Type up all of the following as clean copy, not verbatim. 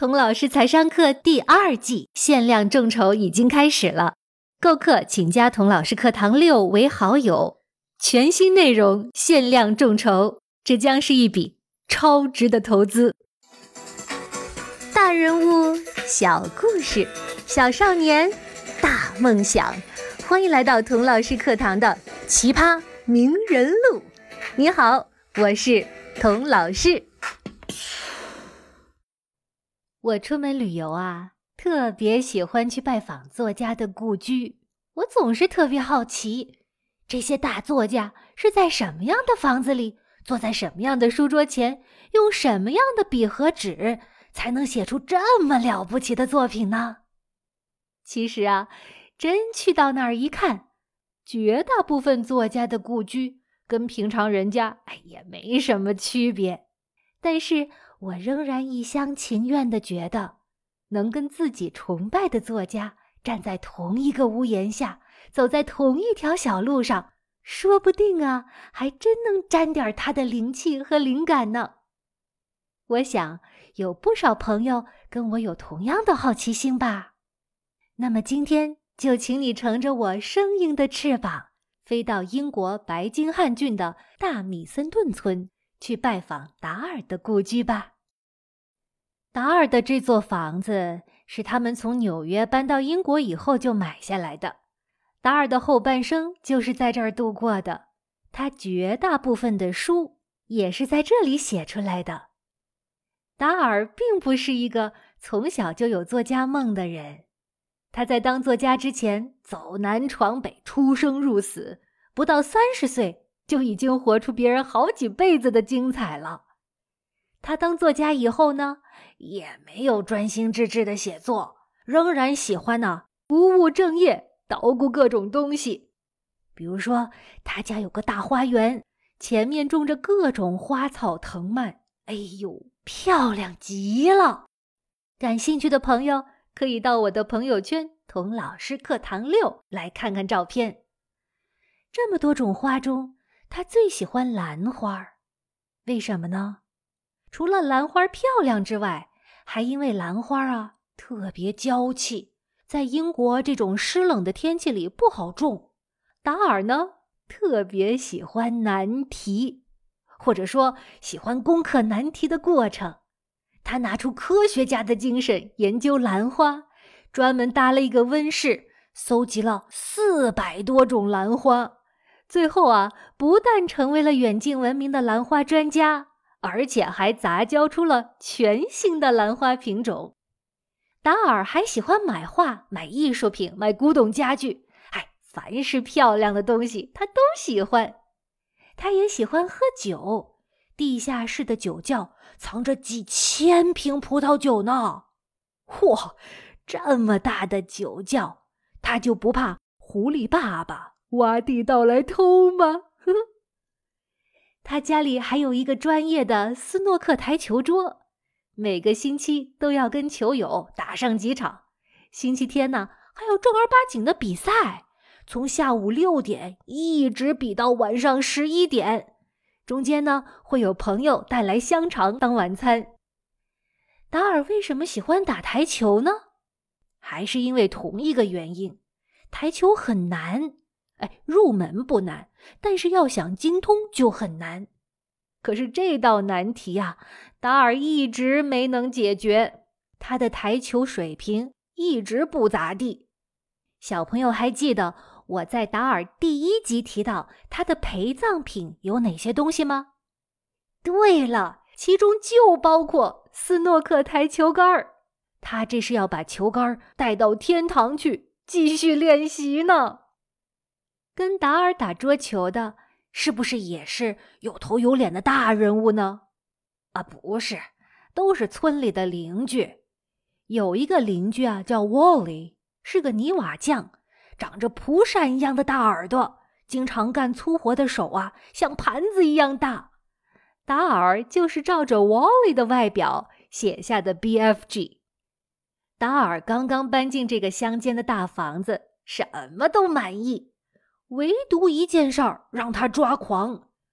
童老师财商课第2季限量众筹已经开始了，购课请加童老师课堂6为好友，全新内容限量众筹，这将是一笔超值的投资。大人物，小故事，小少年，大梦想，欢迎来到童老师课堂的奇葩名人录。你好，我是童老师。我出门旅游啊，特别喜欢去拜访作家的故居。我总是特别好奇，这些大作家是在什么样的房子里，坐在什么样的书桌前，用什么样的笔和纸，才能写出这么了不起的作品呢？其实啊，真去到那儿一看，绝大部分作家的故居跟平常人家也没什么区别。但是我仍然一厢情愿地觉得，能跟自己崇拜的作家站在同一个屋檐下，走在同一条小路上，说不定啊，还真能沾点他的灵气和灵感呢。我想有不少朋友跟我有同样的好奇心吧。那么今天就请你乘着我生硬的翅膀，飞到英国白金汉郡的大米森顿村，去拜访达尔的故居吧。达尔的这座房子是他们从纽约搬到英国以后就买下来的。达尔的后半生就是在这儿度过的，他绝大部分的书也是在这里写出来的。达尔并不是一个从小就有作家梦的人，他在当作家之前走南闯北，出生入死，不到30岁就已经活出别人好几辈子的精彩了。他当作家以后呢，也没有专心致志的写作，仍然喜欢不务正业，捣鼓各种东西。比如说，他家有个大花园，前面种着各种花草藤蔓，哎呦，漂亮极了。感兴趣的朋友可以到我的朋友圈童老师课堂6来看看照片。这么多种花中，他最喜欢兰花。为什么呢？除了兰花漂亮之外，还因为兰花特别娇气，在英国这种湿冷的天气里不好种。达尔呢，特别喜欢难题，或者说喜欢攻克难题的过程。他拿出科学家的精神研究兰花，专门搭了一个温室，搜集了400多种兰花。最后不但成为了远近闻名的兰花专家，而且还杂交出了全新的兰花品种。达尔还喜欢买画、买艺术品、买古董家具，凡是漂亮的东西他都喜欢。他也喜欢喝酒，地下室的酒窖藏着几千瓶葡萄酒呢。嚯，这么大的酒窖，他就不怕狐狸爸爸挖地道来偷吗？他家里还有一个专业的斯诺克台球桌，每个星期都要跟球友打上几场。星期天呢，还有正儿八经的比赛，从下午6点一直比到晚上11点。中间呢，会有朋友带来香肠当晚餐。达尔为什么喜欢打台球呢？还是因为同一个原因，台球很难。入门不难，但是要想精通就很难。可是这道难题达尔一直没能解决，他的台球水平一直不咋地。小朋友还记得我在达尔第1集提到他的陪葬品有哪些东西吗？对了，其中就包括斯诺克台球杆。他这是要把球杆带到天堂去继续练习呢。跟达尔打桌球的是不是也是有头有脸的大人物呢？不是，都是村里的邻居。有一个邻居叫 Wally， 是个泥瓦匠，长着蒲扇一样的大耳朵，经常干粗活的手像盘子一样大。达尔就是照着 Wally 的外表写下的 BFG。达尔刚刚搬进这个乡间的大房子，什么都满意，唯独一件事儿让他抓狂。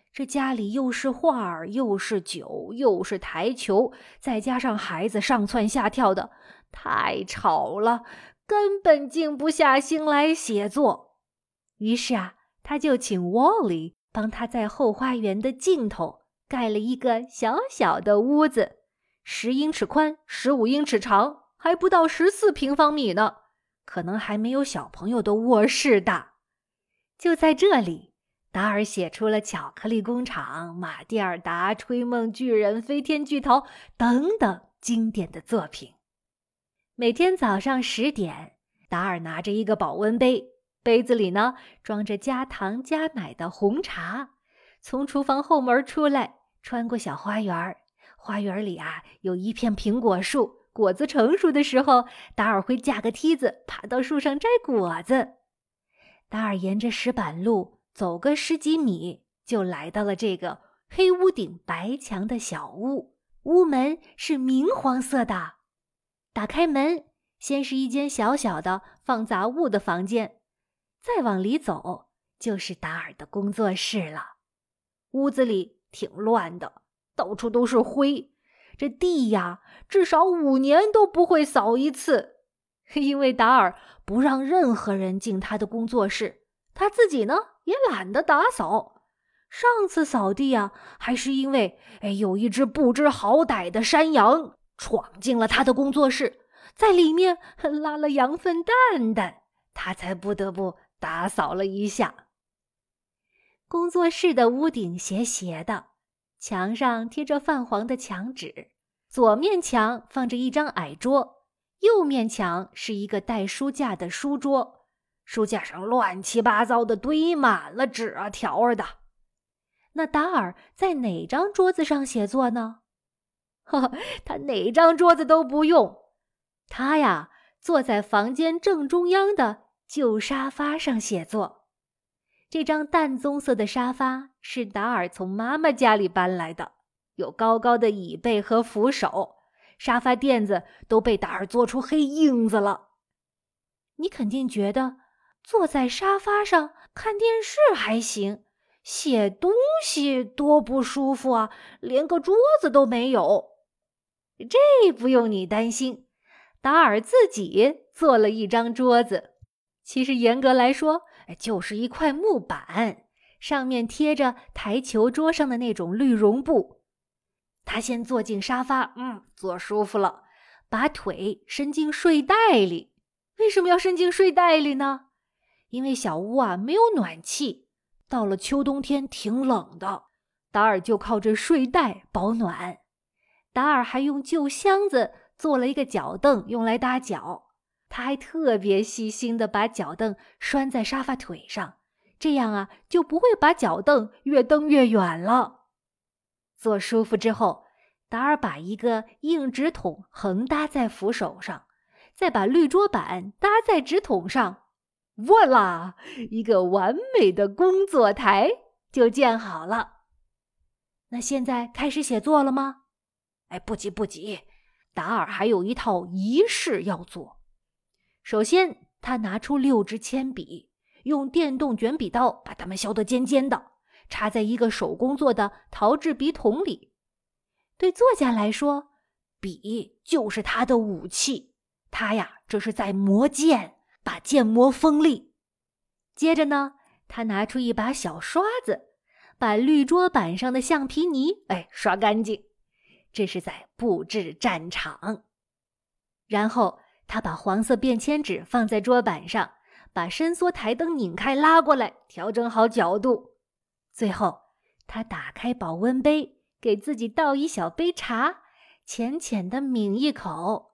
这家里又是画儿，又是酒，又是台球，再加上孩子上蹿下跳的，太吵了，根本静不下心来写作。于是他就请 Wally 帮他在后花园的尽头盖了一个小小的屋子，10英尺宽，15英尺长，还不到14平方米呢，可能还没有小朋友的卧室大。就在这里，达尔写出了巧克力工厂、马蒂尔达、吹梦巨人、飞天巨桃等等经典的作品。每天早上10点，达尔拿着一个保温杯，杯子里呢装着加糖加奶的红茶，从厨房后门出来，穿过小花园，花园里有一片苹果树，果子成熟的时候，达尔会架个梯子爬到树上摘果子。达尔沿着石板路走个10几米，就来到了这个黑屋顶白墙的小屋，屋门是明黄色的。打开门，先是一间小小的放杂物的房间，再往里走就是达尔的工作室了。屋子里挺乱的，到处都是灰，这地至少5年都不会扫一次，因为达尔不让任何人进他的工作室，他自己呢也懒得打扫。上次扫地还是因为有一只不知好歹的山羊闯进了他的工作室，在里面拉了羊粪蛋蛋，他才不得不打扫了一下。工作室的屋顶斜斜的，墙上贴着泛黄的墙纸，左面墙放着一张矮桌，右面墙是一个带书架的书桌，书架上乱七八糟的堆满了纸条的。那达尔在哪张桌子上写作呢？他哪张桌子都不用，他坐在房间正中央的旧沙发上写作。这张淡棕色的沙发是达尔从妈妈家里搬来的，有高高的椅背和扶手，沙发垫子都被达尔做出黑印子了。你肯定觉得坐在沙发上看电视还行，写东西多不舒服连个桌子都没有。这不用你担心，达尔自己做了一张桌子，其实严格来说就是一块木板，上面贴着台球桌上的那种绿绒布。他先坐进沙发，坐舒服了，把腿伸进睡袋里。为什么要伸进睡袋里呢？因为小屋没有暖气，到了秋冬天挺冷的，达尔就靠着睡袋保暖。达尔还用旧箱子做了一个脚凳用来搭脚，他还特别细心地把脚凳拴在沙发腿上，这样就不会把脚凳越蹬越远了。坐舒服之后，达尔把一个硬纸筒横搭在扶手上，再把绿桌板搭在纸筒上，Voila！ 一个完美的工作台就建好了。那现在开始写作了吗？不急，达尔还有一套仪式要做。首先，他拿出6支铅笔，用电动卷笔刀把它们削得尖尖的，插在一个手工做的陶制笔筒里。对作家来说，笔就是他的武器，他这是在磨剑，把剑磨锋利。接着呢，他拿出一把小刷子，把绿桌板上的橡皮泥刷干净，这是在布置战场。然后他把黄色便签纸放在桌板上，把伸缩台灯拧开拉过来，调整好角度。最后他打开保温杯，给自己倒一小杯茶，浅浅地抿一口。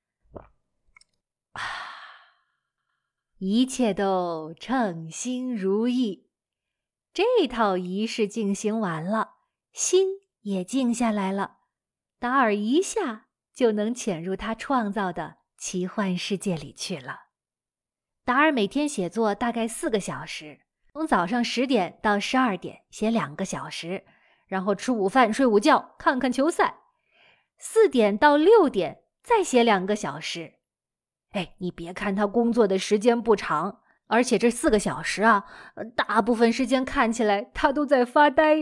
一切都称心如意。这套仪式进行完了，心也静下来了，达尔一下就能潜入他创造的奇幻世界里去了。达尔每天写作大概4个小时，从早上10点到12点写2个小时，然后吃午饭睡午觉看看球赛，4点到6点再写2个小时。你别看他工作的时间不长，而且这4个小时大部分时间看起来他都在发呆，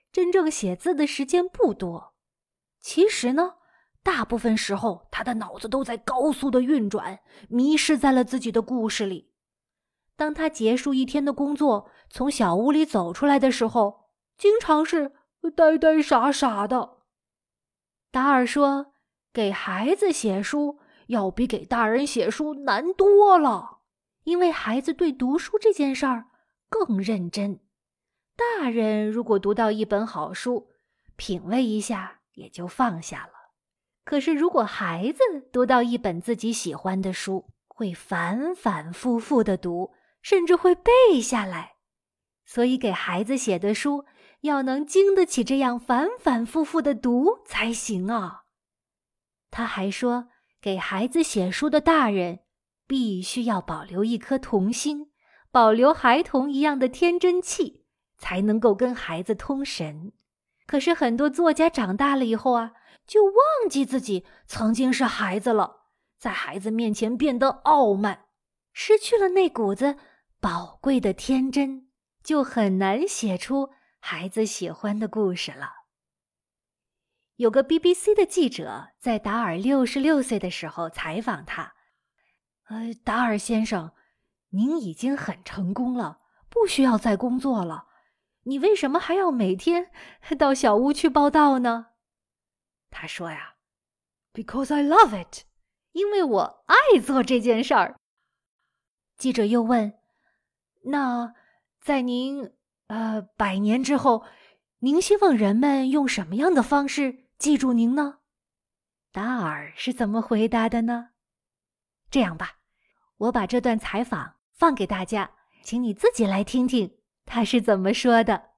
真正写字的时间不多。其实呢，大部分时候他的脑子都在高速的运转，迷失在了自己的故事里。当他结束一天的工作，从小屋里走出来的时候，经常是呆呆傻傻的。达尔说，给孩子写书要比给大人写书难多了，因为孩子对读书这件事儿更认真。大人如果读到一本好书，品味一下也就放下了。可是如果孩子读到一本自己喜欢的书，会反反复复地读，甚至会背下来。所以给孩子写的书要能经得起这样反反复复的读才行啊。他还说，给孩子写书的大人必须要保留一颗童心，保留孩童一样的天真气，才能够跟孩子通神。可是很多作家长大了以后啊，就忘记自己曾经是孩子了，在孩子面前变得傲慢，失去了那股子宝贵的天真，就很难写出孩子喜欢的故事了。有个 BBC 的记者在达尔66岁的时候采访他，达尔先生，您已经很成功了，不需要再工作了，你为什么还要每天到小屋去报道呢？他说呀 ，Because I love it， 因为我爱做这件事儿。记者又问，那在您100年之后，您希望人们用什么样的方式记住您呢？达尔是怎么回答的呢？这样吧，我把这段采访放给大家，请你自己来听听他是怎么说的。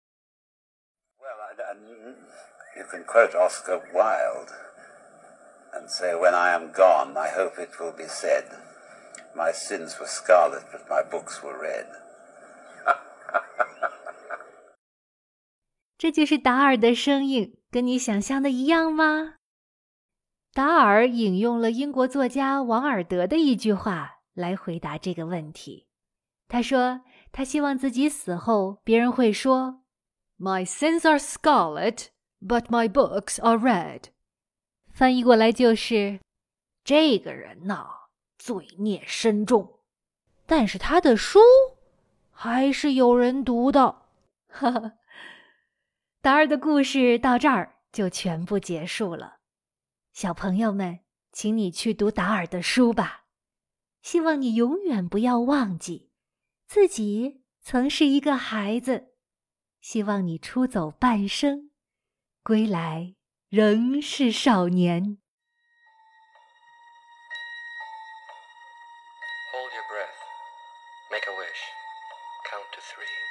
You can quote Oscar Wilde and say, when I am gone, I hope it will be said, my sins were scarlet, but my books were red. 这就是达尔的声音，跟你想象的一样吗？达尔引用了英国作家王尔德的一句话来回答这个问题。他说，他希望自己死后，别人会说 My sins are scarlet, but my books are red. 翻译过来就是，这个人呐，罪孽深重，但是他的书还是有人读的。哈哈，达尔的故事到这儿就全部结束了。小朋友们，请你去读达尔的书吧。希望你永远不要忘记，自己曾是一个孩子。希望你出走半生，归来仍是少年。 Hold your breath. Make a wish. Count to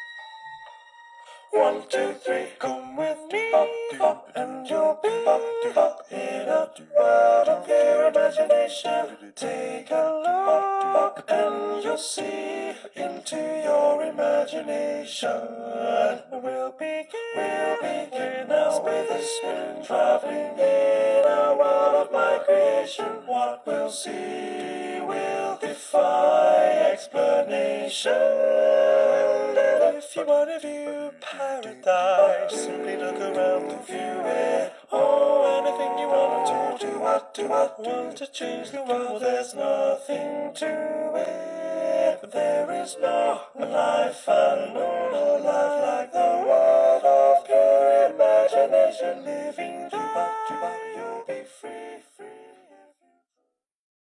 3. 1, 2, 3, come with me, and you'll be in a world of your imagination. Take a look, and you'll see into your imagination. We'll begin now with a spin, traveling in a world of my creation. What we'll see will defy explanation. If you want to view paradise, simply look around to view it. Oh, anything you want to do, what, want to change the world, there's nothing to it. There is no life and no life like the world of pure imagination. Living there, you'll be free.